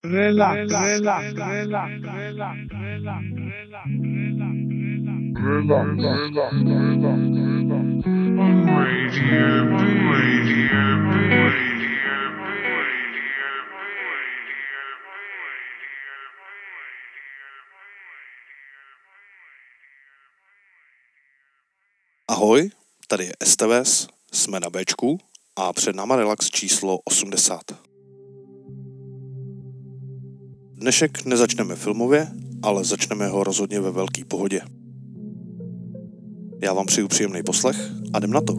Relax, relax, relax, relax, relax, relax, Radio B. Radio B. Ahoj, tady je STVS, jsme na Bčku a před náma relax číslo 80. Dnešek nezačneme filmově, ale začneme ho rozhodně ve velké pohodě. Já vám přeju příjemný poslech a jdem na to.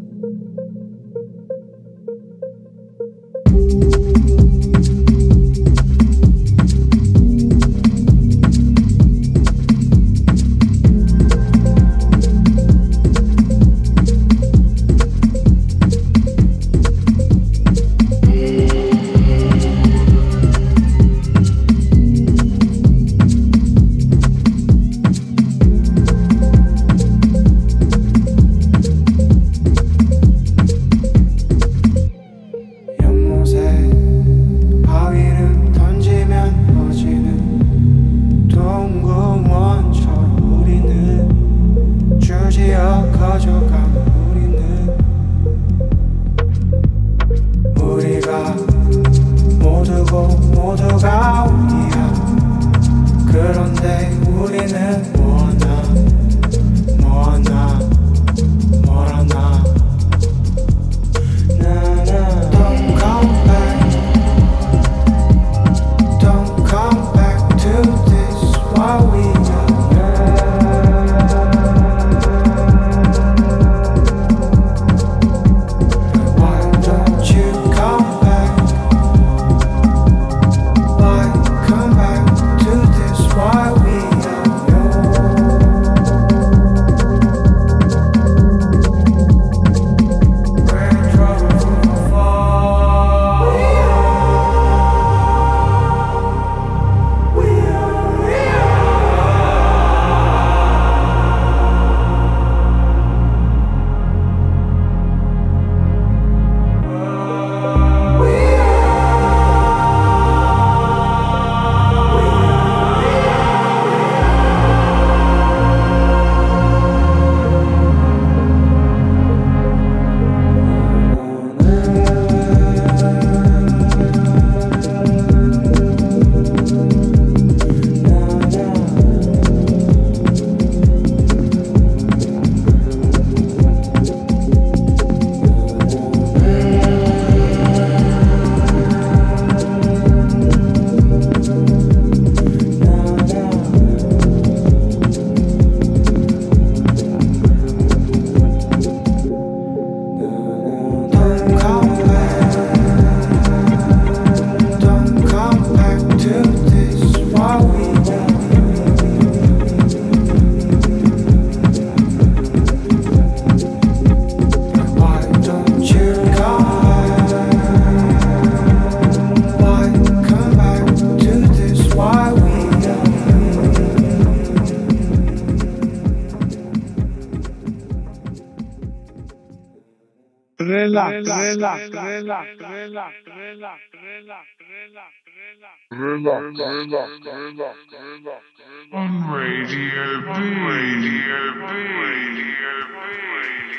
On Radio B. Radio B. Radio B.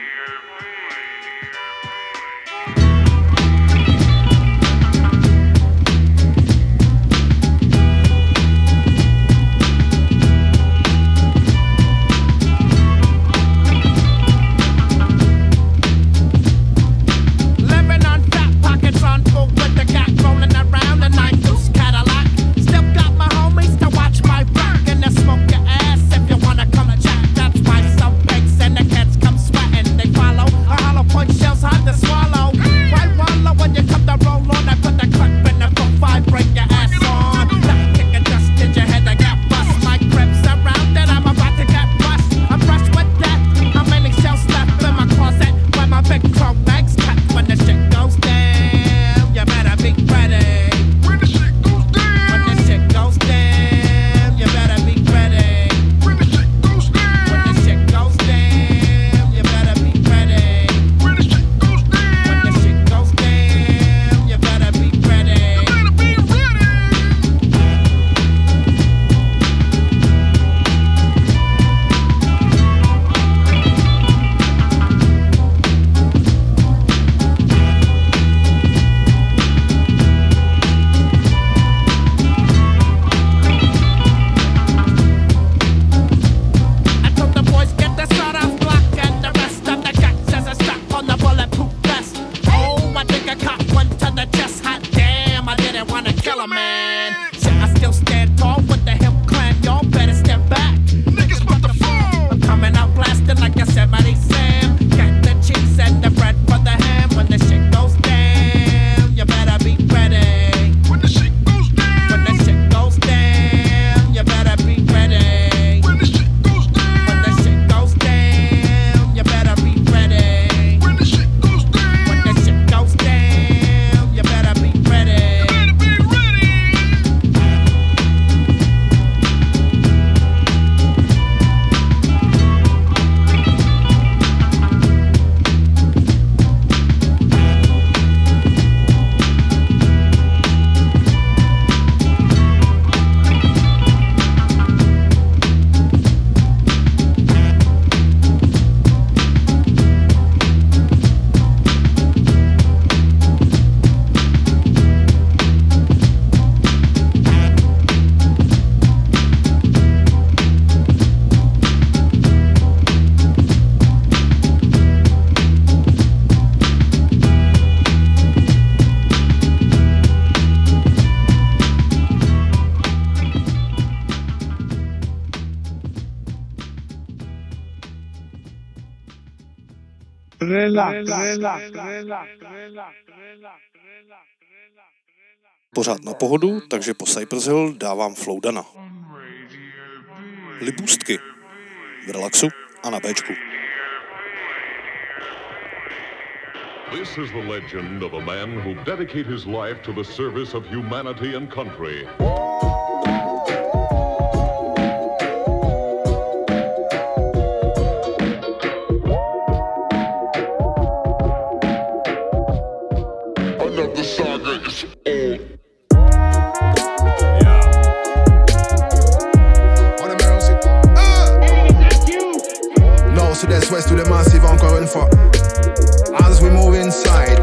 Smoke your ass if you wanna come check. That's why some pigs in the kids man. Shit, I still stand tall with the hip clan. Y'all better step back. Niggas about to fall. I'm coming out blasting like a 70 Sam. Get the cheese and the bread for the ham. When the shit goes down, you better be ready. When the shit goes down. When the shit goes down, you better be ready. When the shit goes down. When the shit goes down, you better be ready. When the shit goes down. When the shit goes down, you better be ready. You better be ready. Pořád na pohodu, takže po Cypress Hill dávám Flowdana. Libůstky. V relaxu a na Bčku. This is the legend of a man who dedicated his life to the service of humanity and country. Another saga is old. Nord, sud-est, ouest, tous les massifs encore une fois. As we move inside.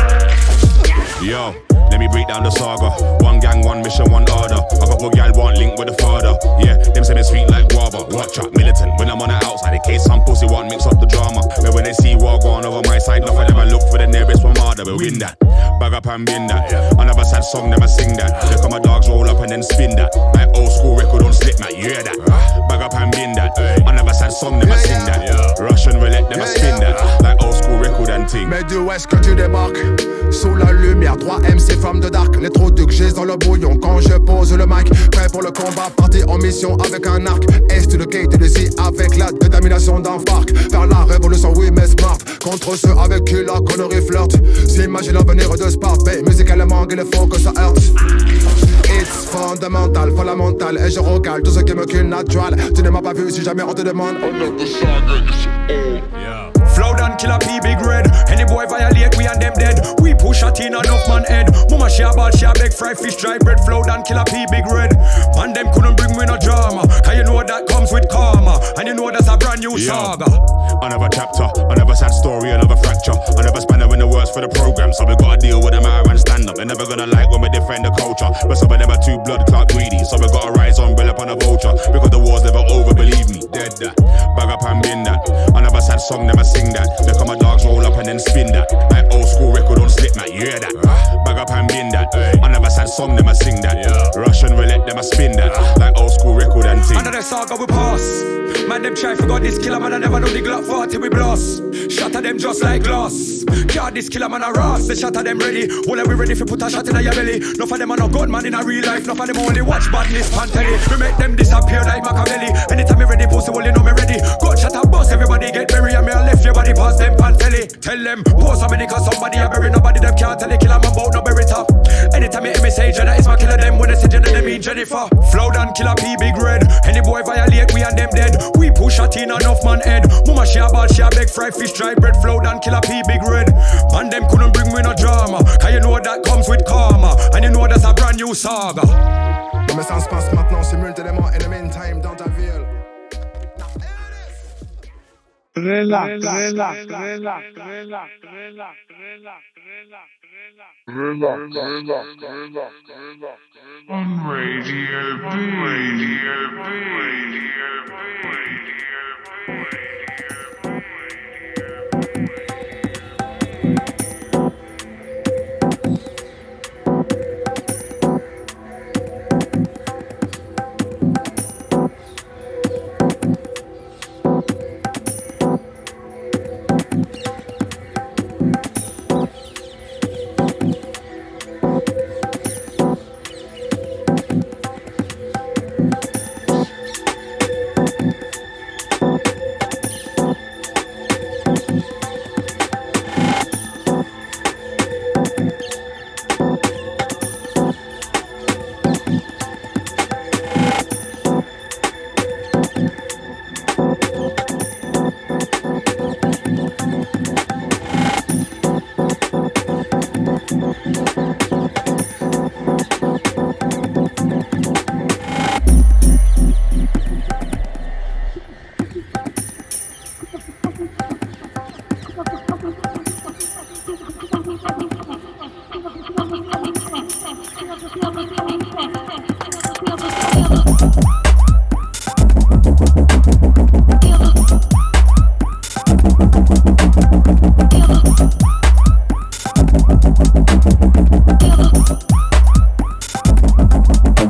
Yo, let me break down the saga. One gang, one mission, one order. A couple gal want link with the father. Yeah, them say me sweet like guava. Watch out, militant. When I'm on the outside, in case some pussy want mix up the drama. But when they see war going over my side, enough of them I look for the nearest Ramada. We win that. Bag up and bin that. Another sad song, never sing that. They come my dogs roll up and then spin that. Like old school record on slip, man. You hear that? Bag up and bin that. Another sad song, never sing that. Russian roulette, never spin that. Like old school record and ting. Mais du ouest que tu débarques. Sous la lumière, 3 MC femmes de dark. Les trous de j'ai dans le bouillon quand je pose le mic. Prêt pour le combat, parti en mission avec un arc. Est de gate de Z avec la détermination d'un farc. Faire la révolution, oui mais smart. Contre ceux avec qui la connerie flirte. S'imagine l'avenir de Sparte. Bay, musicalement il faut que ça heurte. It's fondamental, fondamental. Et je recale tout ce qui me cul natural. Tu ne m'as pas vu si jamais on te demande. Another saga is old. Flowdan kill a P big red. Any boy violate we and them dead. We push a tin enough man head. Mama she a ball, she a beg fried fish, dry bread. Flowdan kill a P big red. Man them couldn't bring me no drama. Cause you know that comes with karma. And you know that's a brand new saga. Another chapter, another sad story, another fracture. Another spanner in the works for the program. So we gotta deal with them out and stand up. They're never gonna like when we defend the culture. But some of them are too blood clot greedy. So we gotta rise umbrella upon a vulture. Because the war's never over, believe me. Dead that. Bag up and bin that. Another sad song, never sing that. They come my dogs roll up and then spin that. Like old school record on slip, man. You hear that? Bag up and bin that. Another sad song, never sing that. Russian roulette, never spin that. Like old school record and ting. Another saga we pass. Man them try forgot this killer man I never know the Glock 40 we blast. Shatter them just like glass. God this killer man a ras. They shatter them ready. Well we ready for put a shot in your belly. Enough of them are no good man in a real life. Enough of them only watch badness pan telly. We make them disappear like Machiavelli. Anytime me ready pussy well you know me ready. Good shot a bust everybody get buried. And me a left your body past them pan telly. Tell them post so many cause somebody a bury. Nobody them can't tell the killer man about no bury top. Anytime you hear me say Jenna is my killer them. When they say Jenna they mean Jennifer. Flowdan kill a P big red. Any boy violate we and them dead. We push a tin enough man head. Mama she a ball, she a beg fried fish, dry bread. Flowdan kill a P big red. Man them couldn't bring me no drama. Cause you know that comes with karma. And you know that's a brand new saga. Non mais ça se passe maintenant simultanément in the meantime dans ta ville. Relax. On Radio B.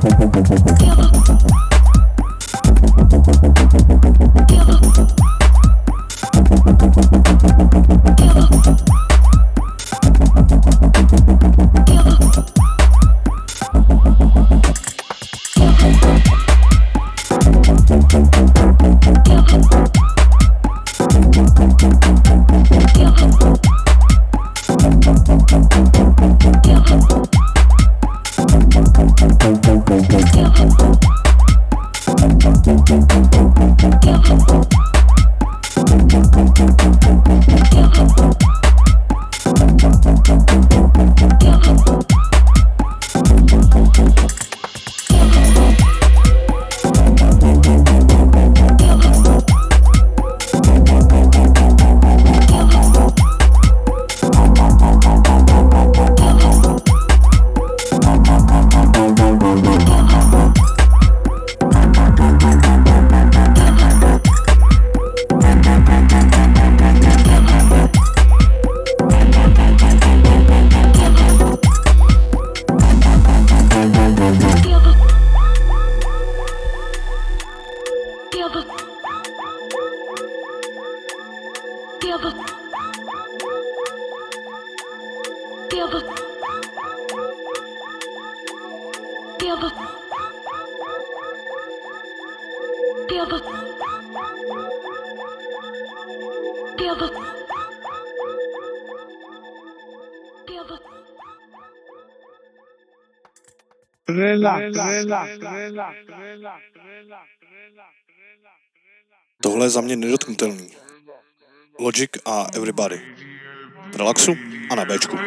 Tohle je za mě nedotknutelný. Logic a Everybody. V relaxu a na Bčku.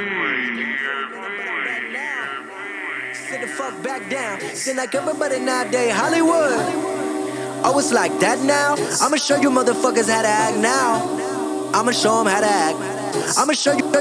Sit the fuck back down. Seem like everybody nowadays Hollywood. Oh, it's like that now? I'ma show you motherfuckers how to act now. I'ma show them how to act. I'ma show you.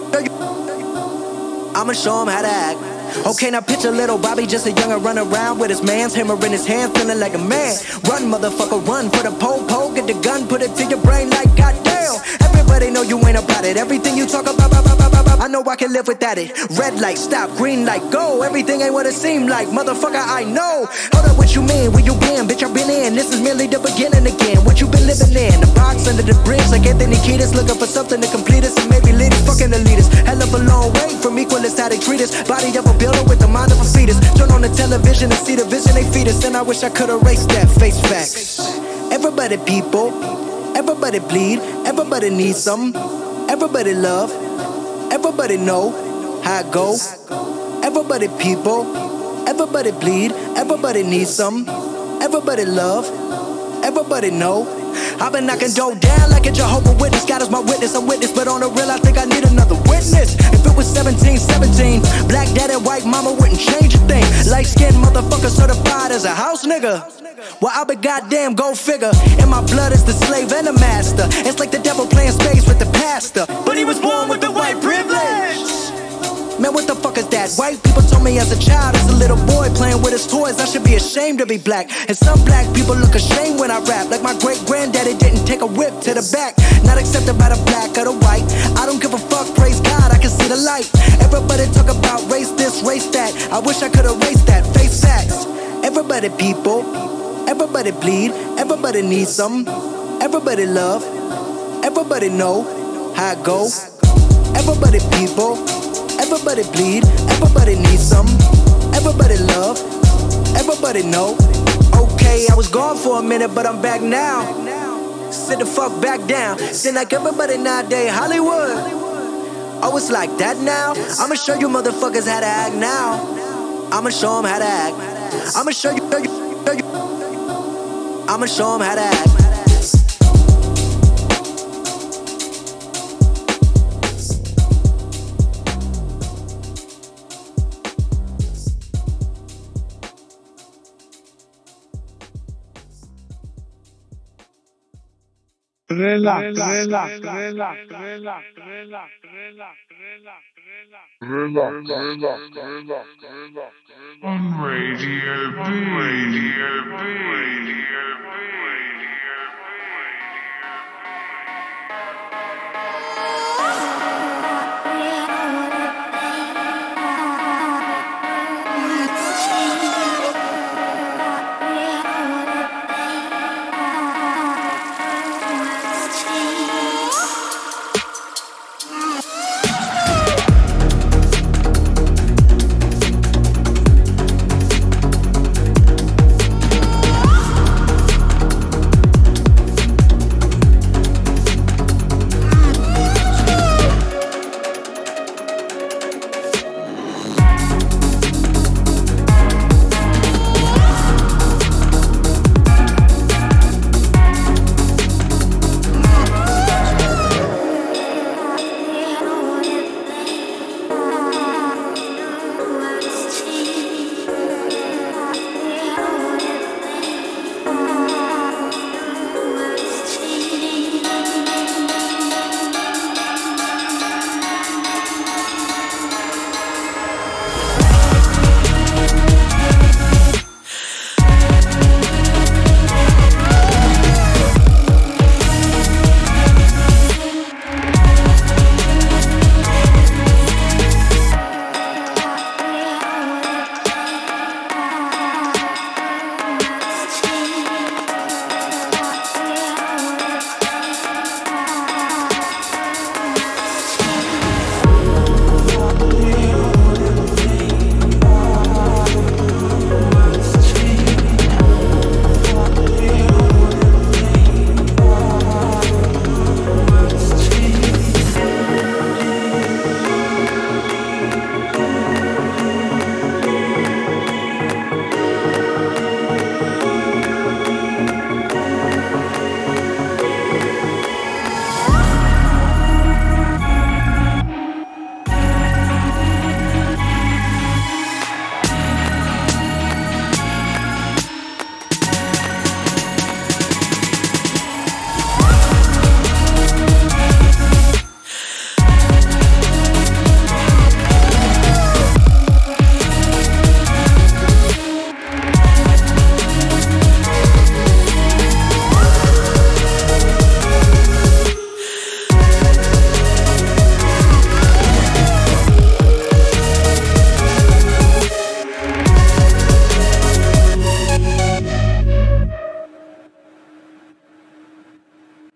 I'ma show them how to act. Okay, now picture little Bobby, just a young'un run around with his man's hammer in his hand, feeling like a man. Run, motherfucker, run for the pole, get the gun, put it to your brain like goddamn. Everybody know you ain't about it. Everything you talk about, I know I can live without it. Red light, stop, green light, go. Everything ain't what it seem like, motherfucker, I know. Hold up, what you mean? Where you been? Bitch, I've been in. This is merely the beginning again. What you been living in? The box under the bridge, like Anthony Kiedis, looking for something to complete us and maybe lead us. Fucking elitists, hell of a long way from equalists, how they treat us. Body of a builder with the mind of a fetus. Turn on the television and see the vision they feed us. And I wish I could erase that face facts. Everybody people, everybody bleed, everybody needs something. Everybody love, everybody know how it go. Everybody people, everybody bleed, everybody needs something. Everybody love, everybody know. I've been knocking dough down like a Jehovah's Witness. God is my witness, I'm witness, but on the real I think I need another witness. If it was 17, black dad and white mama wouldn't change a thing. Light skinned motherfucker certified as a house nigga. Well, I be goddamn, go figure. In my blood is the slave and the master. It's like the devil playing space with the pastor, but he was born with the white privilege. Man, what the fuck is that? White people told me as a child, as a little boy playing with his toys, I should be ashamed to be black. And some black people look ashamed when I rap, like my great-granddaddy didn't take a whip to the back. Not accepted by the black or the white. I don't give a fuck, praise God, I can see the light. Everybody talk about race this, race that. I wish I could erase that, face facts. Everybody people, everybody bleed, everybody needs something. Everybody love, everybody know how it go. Everybody people, everybody bleed, everybody needs something. Everybody love, everybody know. Okay, I was gone for a minute, but I'm back now. Sit the fuck back down. Seem like everybody nowadays Hollywood. Oh, it's like that now? I'ma show you motherfuckers how to act now. I'ma show them how to act. I'ma show you. I'ma show them how to act. Relax. On Radio B.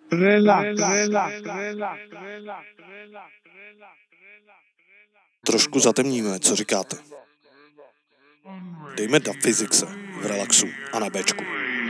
Trošku zatemníme, co říkáte? Dejme da Physicse v relaxu a na Bčku.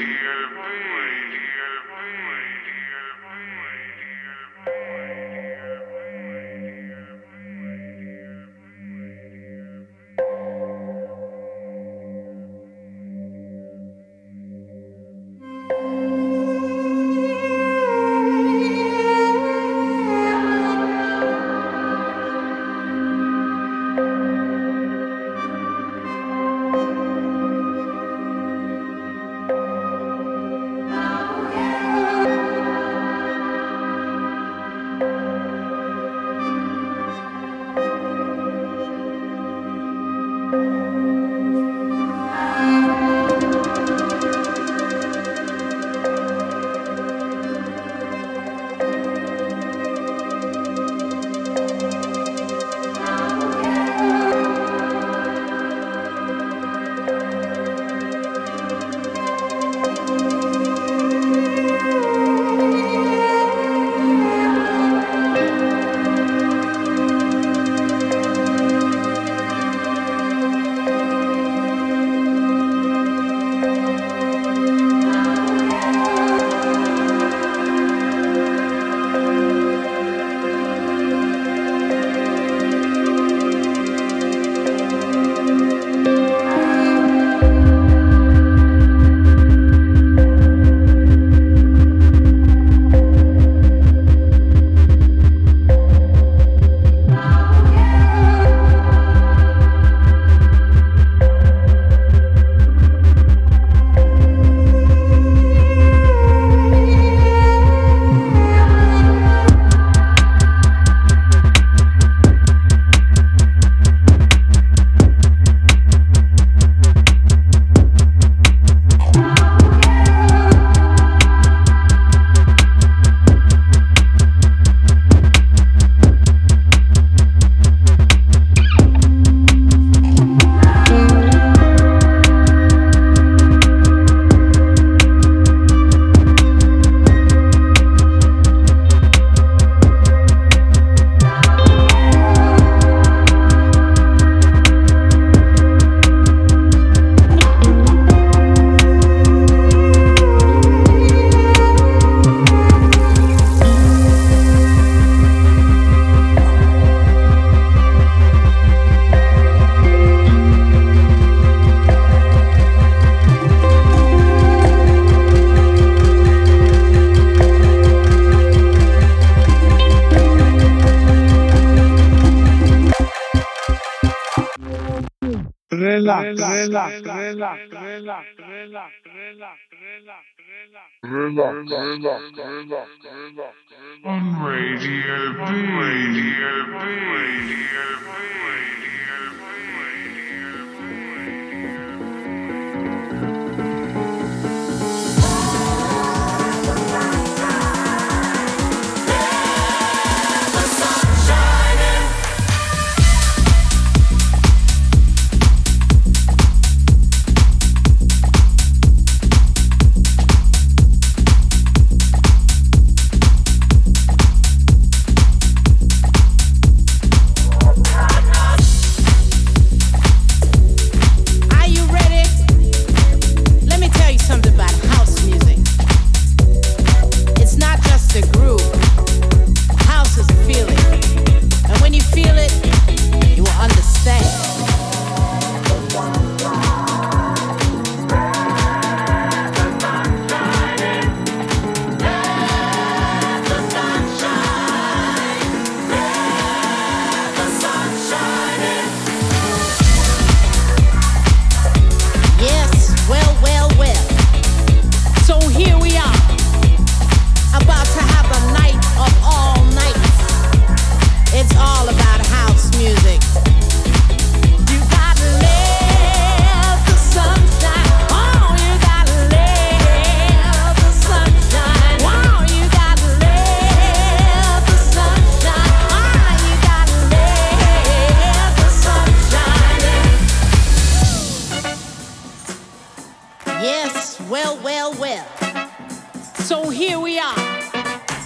On Radio B. Yes, well. So here we are,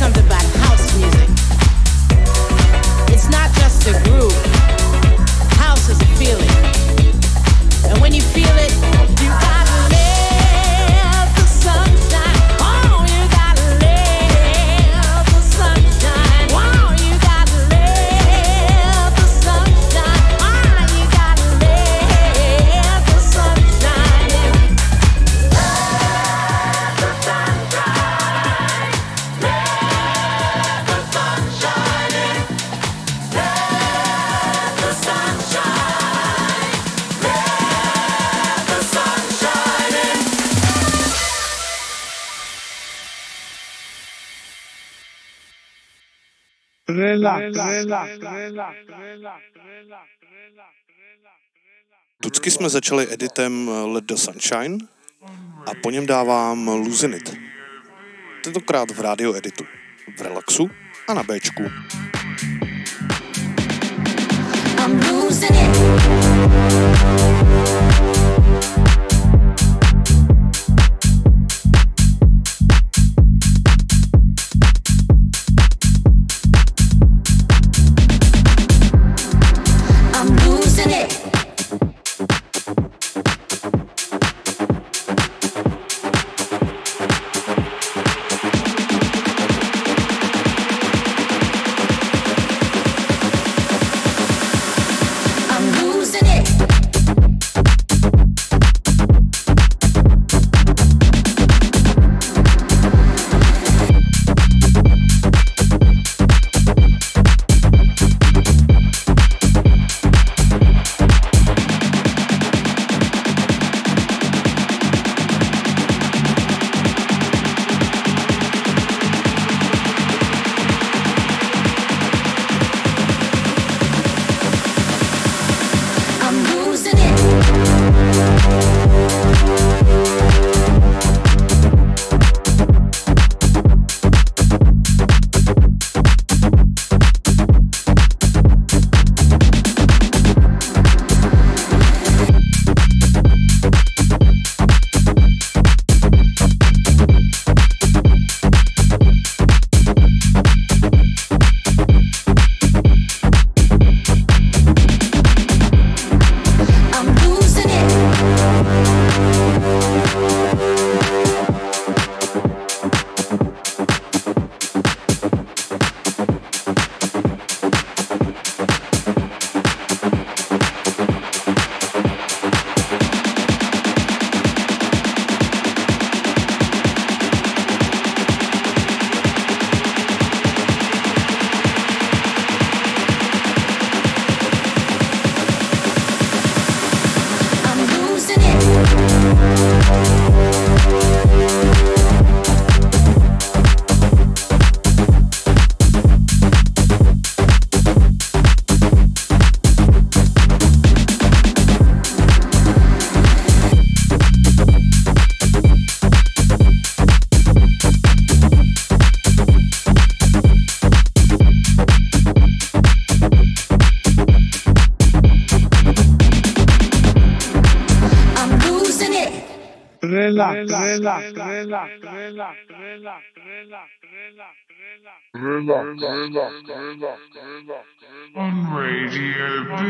something about house music. It's not just a groove. House is a feeling. And when you feel it, you gotta live the sunshine. Oh, you gotta live the sunshine. Oh, you gotta live the sunshine. Oh, you gotta live the sunshine. Live the sunshine. Live the sunshine. Live the sunshine. Live the sunshine. Tucky jsme začali editem Let the Sunshine a po něm dávám Losing It. Tentokrát v rádio editu, v Relaxu a na Bčku. I'm losing it. On Radio B.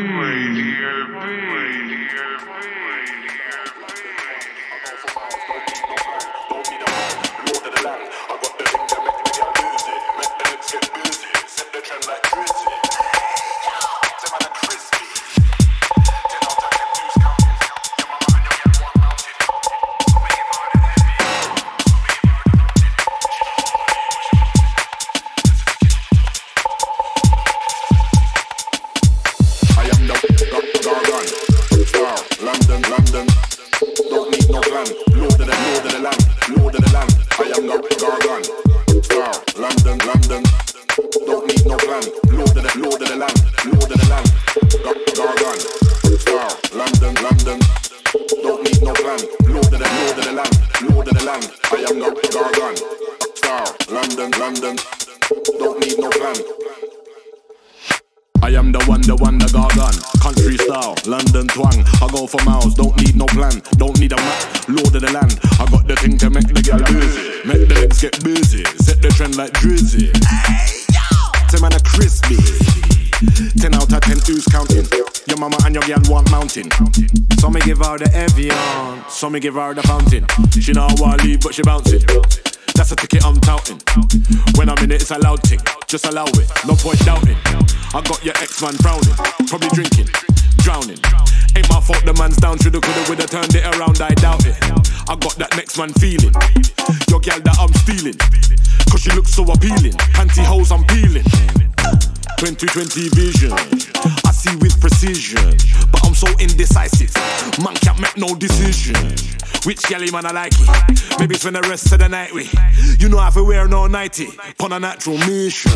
I am the one, the gargan. Country style, London twang. I go for miles, don't need no plan. Don't need a map, lord of the land. I got the thing to make the girl busy. Make the legs get busy. Set the trend like Drizzy. Ten man a crispy. 10 out of 10, who's counting? Your mama and your girl want mountain. So me give her the Evian, so me give her the fountain. She know I wanna leave, but she bouncing. That's a ticket I'm touting. When I'm in it, it's a loud tick. Just allow it, no point doubting. I got your ex-man frowning, probably drinking, drowning. Ain't my fault the man's down, shoulda coulda woulda turned it around, I doubt it. I got that next man feeling, your girl that I'm stealing. Cause she looks so appealing, pantyhose I'm peeling. 2020 vision, I see with precision. But I'm so indecisive, man can't make no decision. Which girlie man I like it? Maybe spend the rest of the night with. You know I have to wear no nighty, on a natural mission.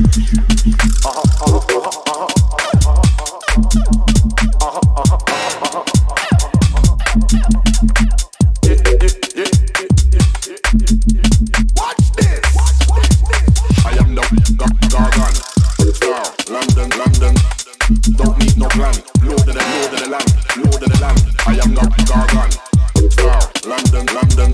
Watch this. I am the gargan. London, don't need no plan. Lord of the land. I am the gargan. London.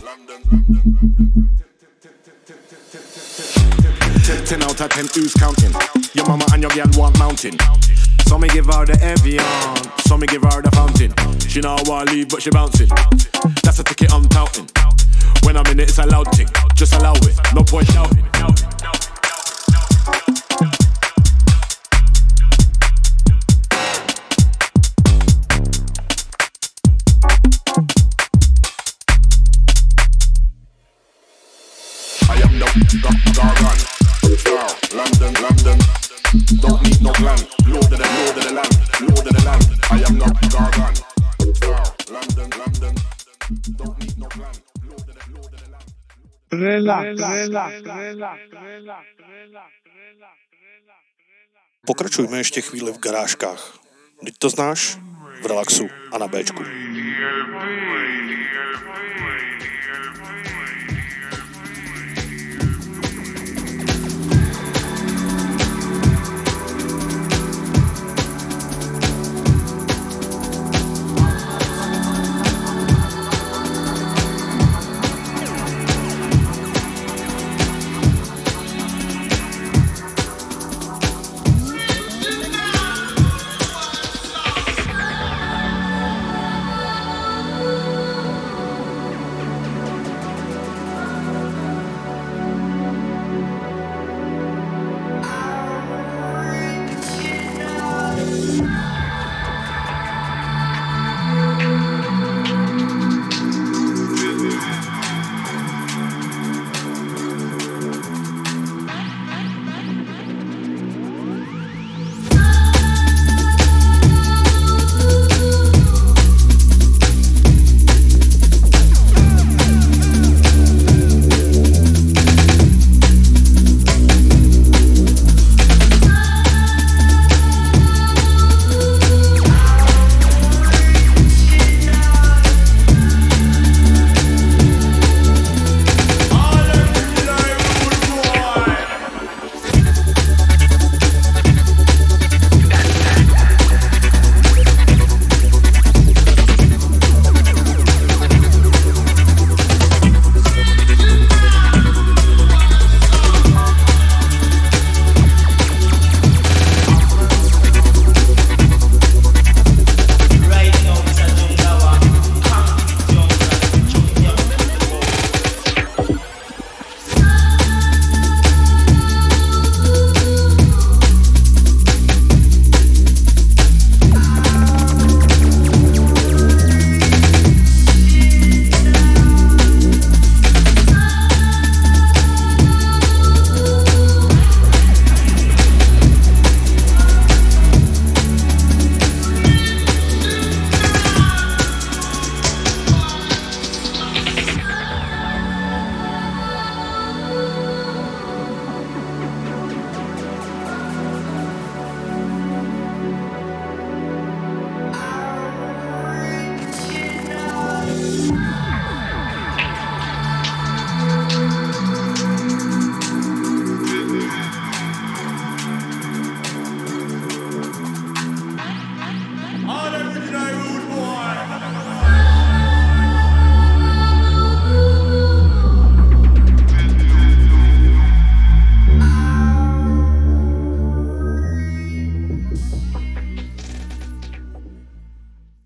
10 out of 10, who's counting? Your mama and your girl want mountain. So me give her the Evian, so me give her the fountain. She know I wanna leave, but she bouncing. That's a ticket I'm touting. When I'm in it, it's a loud thing. Just allow it, no point doubting. I am the gargan. London, don't need no plan. Lord of the land. I am the gargan. London, don't need no plan. Lord of the land. Pokračujme ještě chvíli v garážkách. Vždyť to znáš? V relaxu a na Bčku.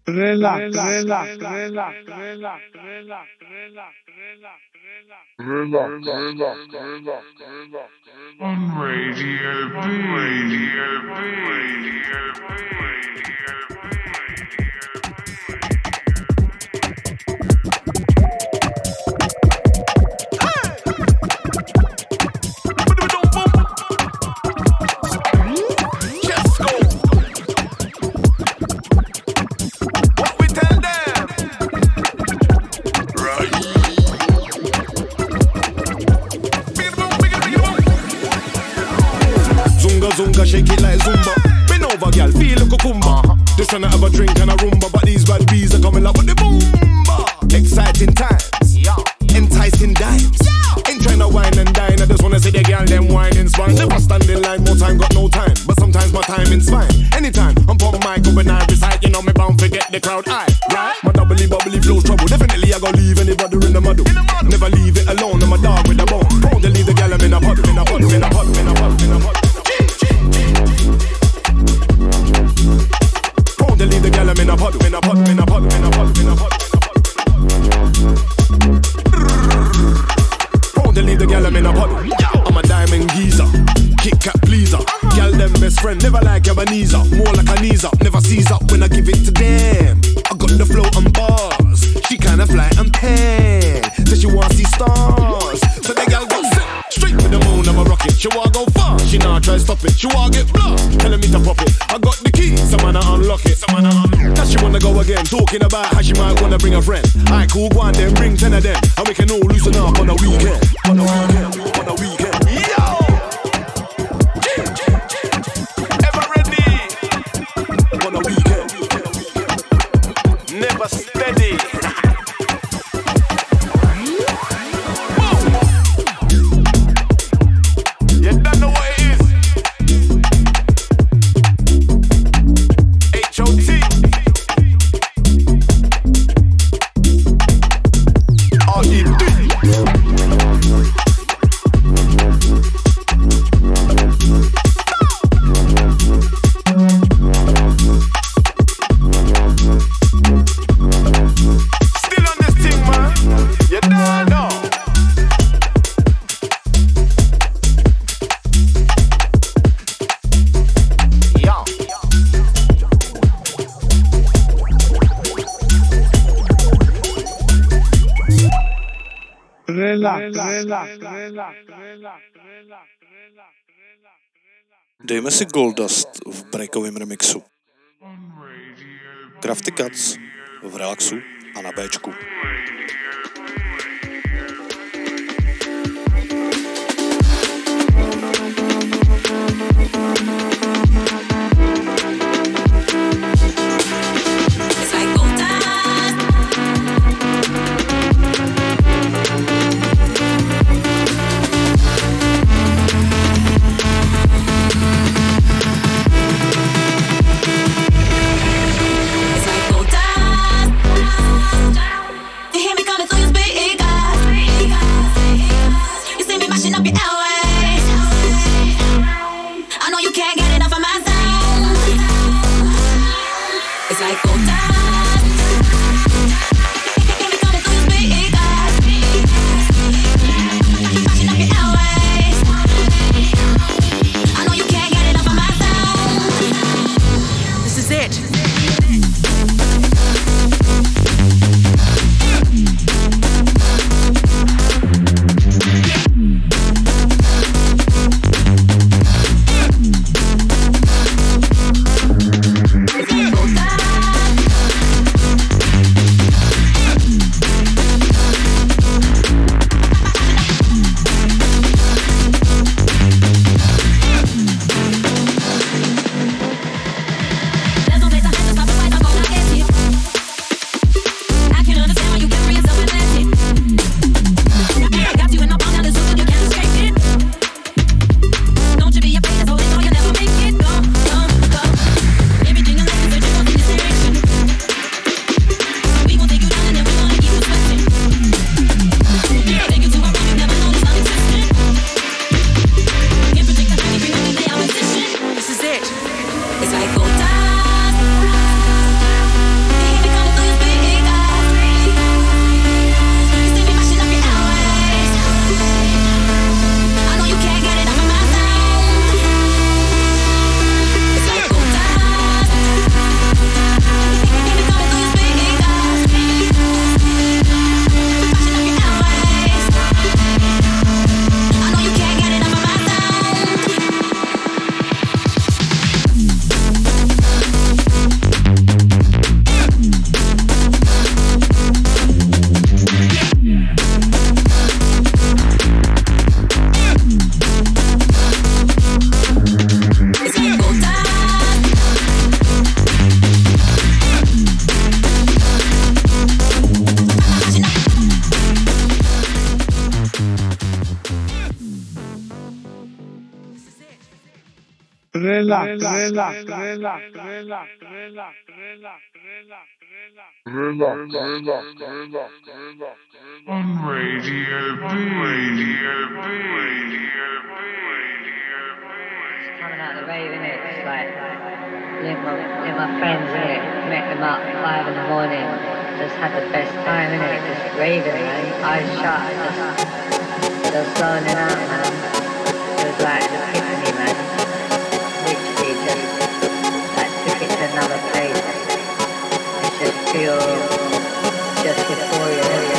On Radio B. Zunga, shake it like Zumba. Bend over, girl, feel a cucumber. Just tryna have a drink and a rumba, but these bad bees are coming up with the boomba. Exciting times, enticing dimes. Ain't tryna wine and dine, I just wanna see the girl them whining spine. Never stand in line, more time, got no time. But sometimes my timing's fine. Anytime, I'm pop mic up when I recite, you know me bound to get the crowd high, right? My bubbly flows trouble, definitely I gon' leave anybody in the muddle. Never leave it alone, I'm a dog with a bone. Prone to leave the girl I'm in a puddle, in a puddle, in a puddle, in a puddle, in a puddle. They leave the gal in a puddle, in a puddle, in a puddle, in a puddle, in a puddle. Oh, they leave the gal in a puddle. I'm a diamond geezer, Kit Kat pleaser. Gal them best friend, never like Ebenezer. More like a knees up, never sees up when I give it to them. I got the flow and bars. She kinda fly and pan, so she wanna see stars. So the gal go sit straight with the moon, I'm a rocket. She wanna go far, she nah try stop it. She wanna get blocked, telling me to pop it. I got the key, some man unlock it. Cause she wanna go again, talking about how she might wanna bring a friend. Alright, cool, go on then, bring 10 of them, and we can all loosen up on a weekend. On a weekend, on a weekend. Yo! Ever ready? On a weekend. Never steady. You don't know what it is. H.O.T. R.E.D. Still on this thing, man. You don't know. Dejme si Goldust v breakovém remixu. Crafty Cuts v relaxu a na Bčku. You hear me coming through your On Radio B. Coming out of the rave, innit? It's like, with my friends, innit? Met them up 5 in the morning. Just had the best time, innit? Just raving, man. Eyes shut, just zoning out, man. It was like an epiphany, man. Literally just, like, took it to another place. It's just pure, just euphoria.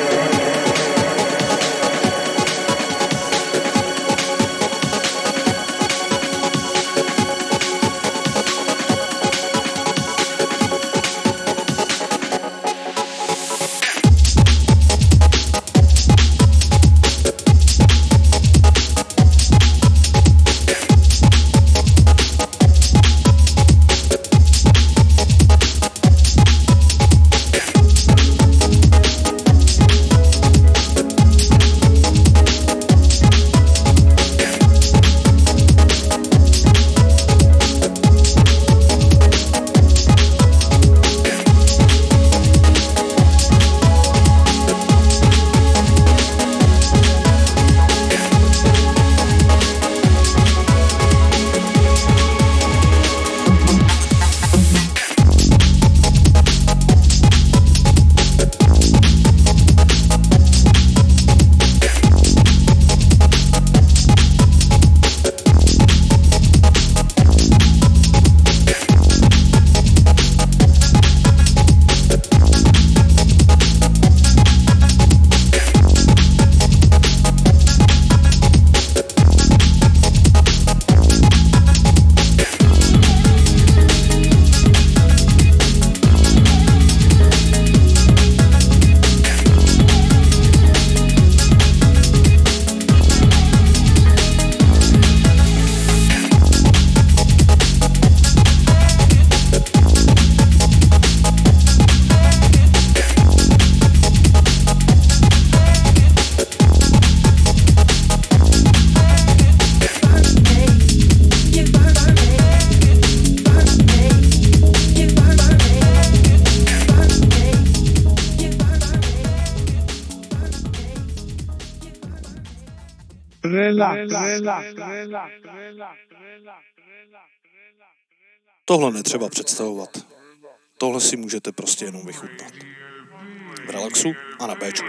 Tohle netřeba představovat. Tohle si můžete prostě jenom vychutnat. V relaxu a na Bčku.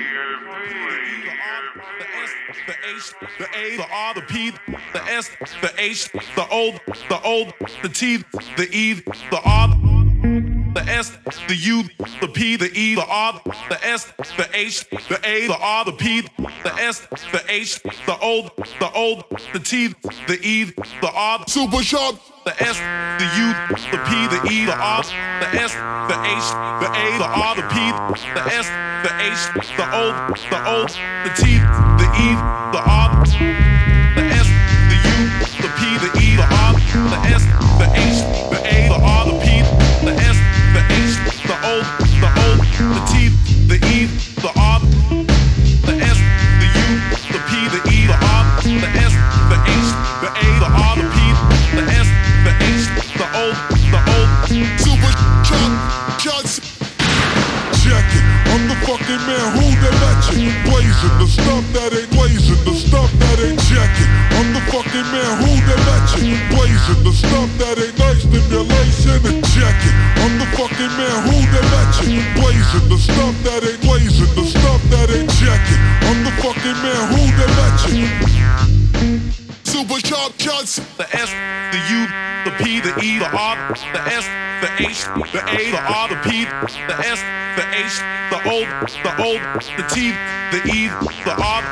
The H, the A, the R, the P, the S, the H, the O, the T, the E, the R, the S, the U, the P, the E, the R, the S, the H, the A, the R, the P, the S, the H, the O, the T, the E, the R, super sharp. The S, the U, the P, the E, the R, the S, the H, the A, the R, the P, the S, the H, the O, the T, the E, the R, the S, the U, the P, the E, the R, the S, the H, the A, the R, the P, the S, the H, the O, the T, the E, the R, the S, the U, the P, the E, the R, the S, the H, the A, the R, the P, the S, the H, the O, super shots. Check it, I'm the fucking man who they mention. Blazing the stuff that ain't blazing, the stuff that ain't checking. I'm the fucking man who they mention. Blazing the stuff that ain't nice, stimulation and checking. I'm the fucking man who they mention. Blazing the stuff that ain't blazing, the stuff that ain't checking. I'm the fucking man who they mention. Super sharp shots. The S, the U, the P, the E, the R, the S, the H, the A, the R, the P, the S, the H, the O, the T, the E, the R.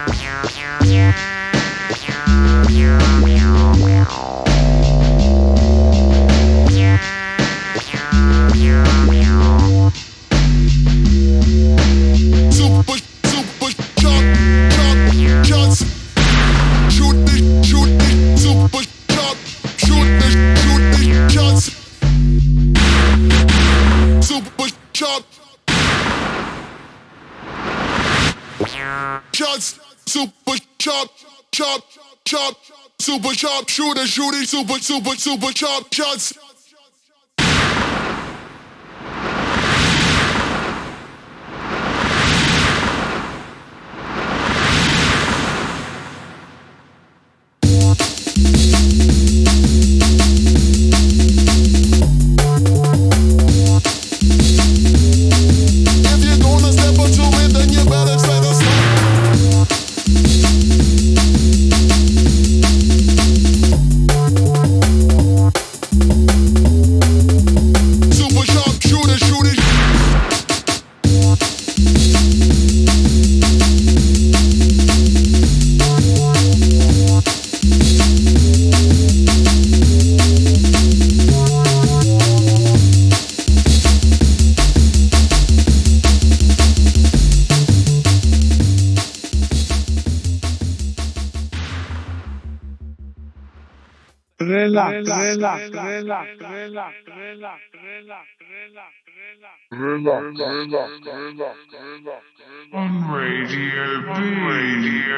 Super shots. Shoot this, super shot. Shoot this, shots. Super shot. Shots, super shot. Super sharp shooter, shooting super sharp shots. On Radio B.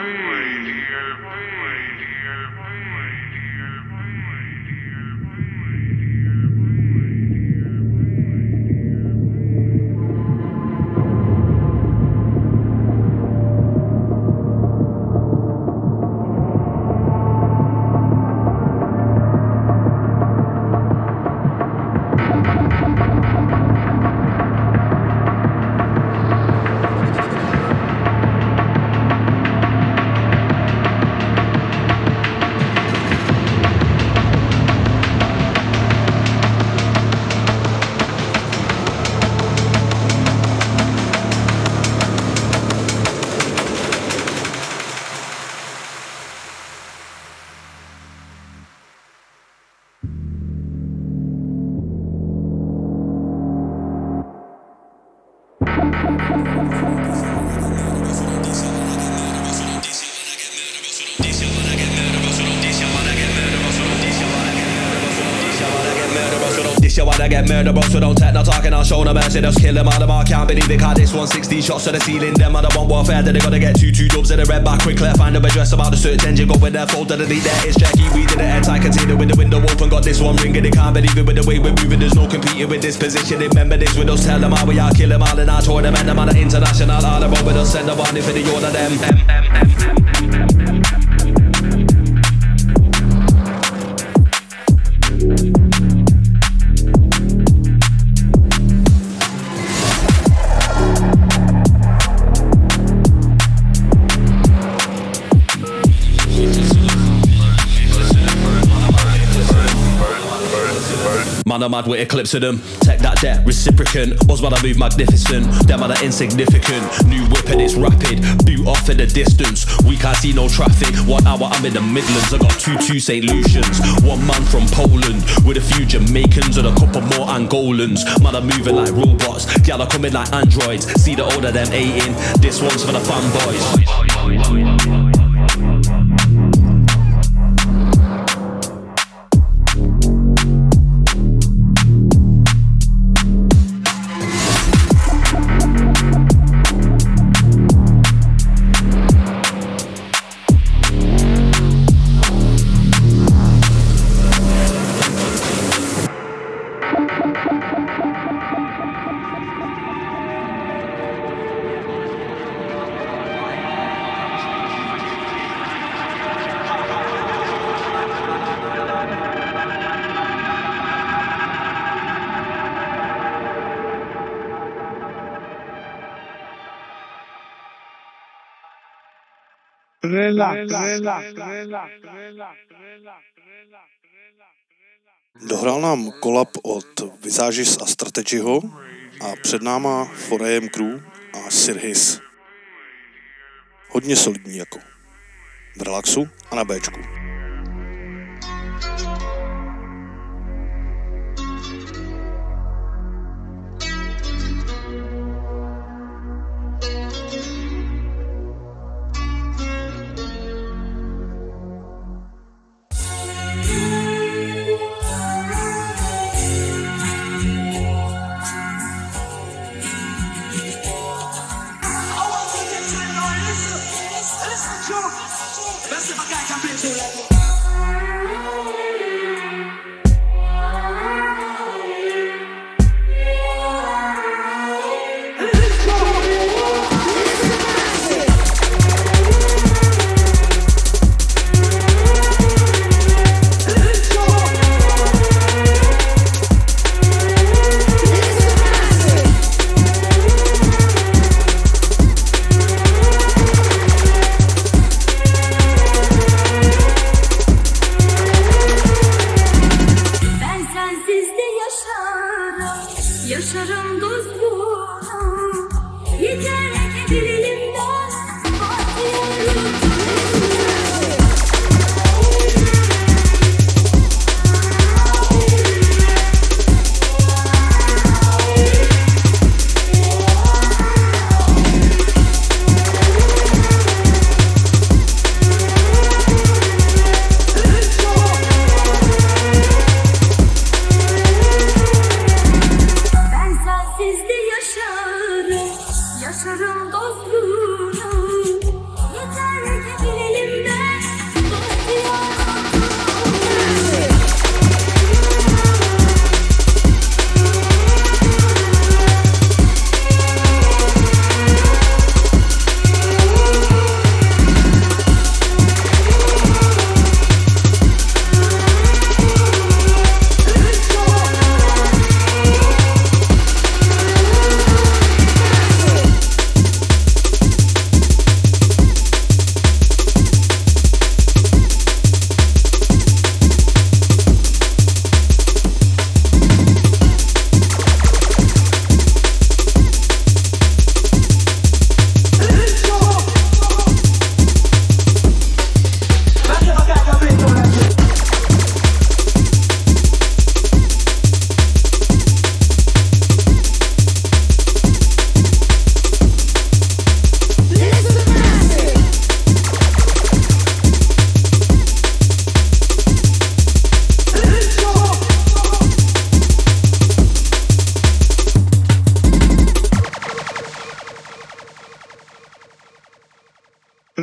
I get murdered, bro, so don't take no talking, I'll show no mercy. Just kill them out of bar, can't believe it, cause this 160 shots to the ceiling. Them on the one warfare, that they gotta get two dubs in the red back quickly. Find them address about the search engine, go with their fold to delete that. It's Jackie, we did the airtight container with the window open. Got this one ringing, they can't believe it with the way we're moving. There's no competing with this position. Remember this with us, tell them how we are, kill them all in our tournament. Them on the international, all about with us, send them on if the order them. Man, I'm mad with eclipse of them. Take that debt, reciprocant. Osman, I move magnificent. Them are the insignificant. New whip and it's rapid. Boot off in the distance. We can't see no traffic. 1 hour, I'm in the Midlands. I got two St. Lucians. One man from Poland. With a few Jamaicans and a couple more Angolans. Man, I'm moving like robots. Gal are coming like androids. See the older them 18. This one's for the fanboys. Dohrál nám kolab od Visagis a Strategyho a před náma 4AM Crew a Sirhis. Hodně solidní jako. V relaxu a na Bčku. Best if I can't complete you like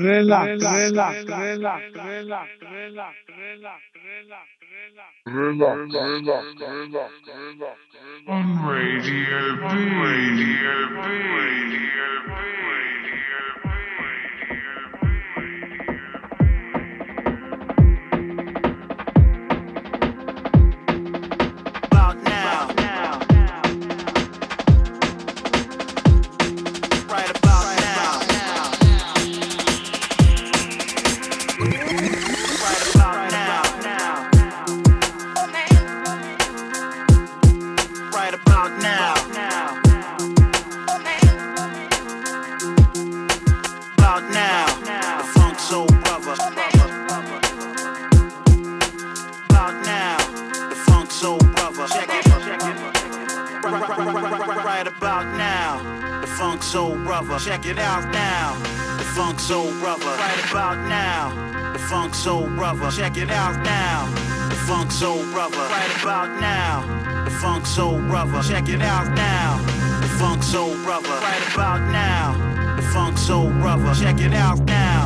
On Radio B. Check it out now, the Funk Soul Brother. Right about now, the Funk Soul Brother. Check it out now, the Funk Soul Brother. Right about now, the Funk Soul Brother. Check it out now, the Funk Soul Brother. Right about now, the Funk Soul Brother. Check it out now.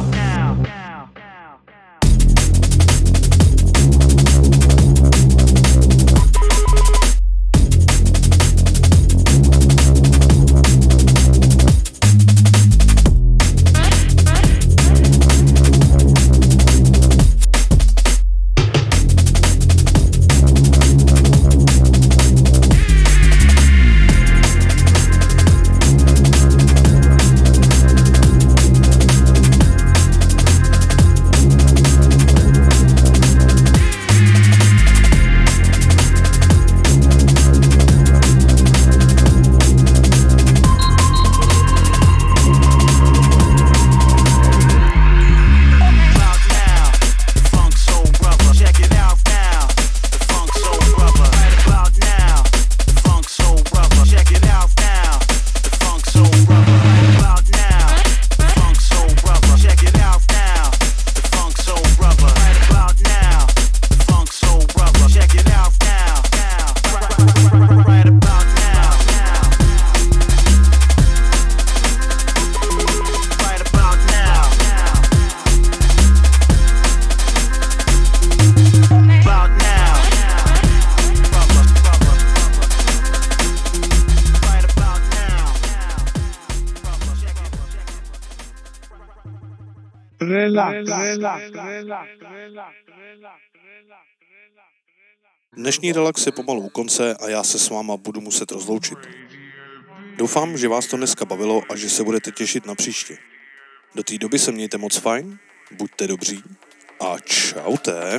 Dnešní relax je pomalu u konce a já se s váma budu muset rozloučit. Doufám, že vás to dneska bavilo a že se budete těšit na příště. Do té doby se mějte moc fajn, buďte dobří a čaute.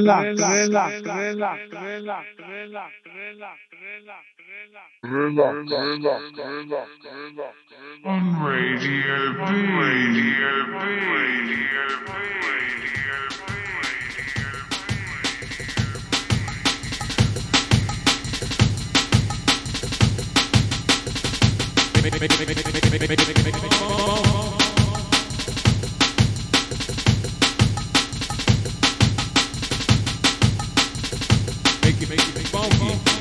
On Radio B. Radio B. Make it funky.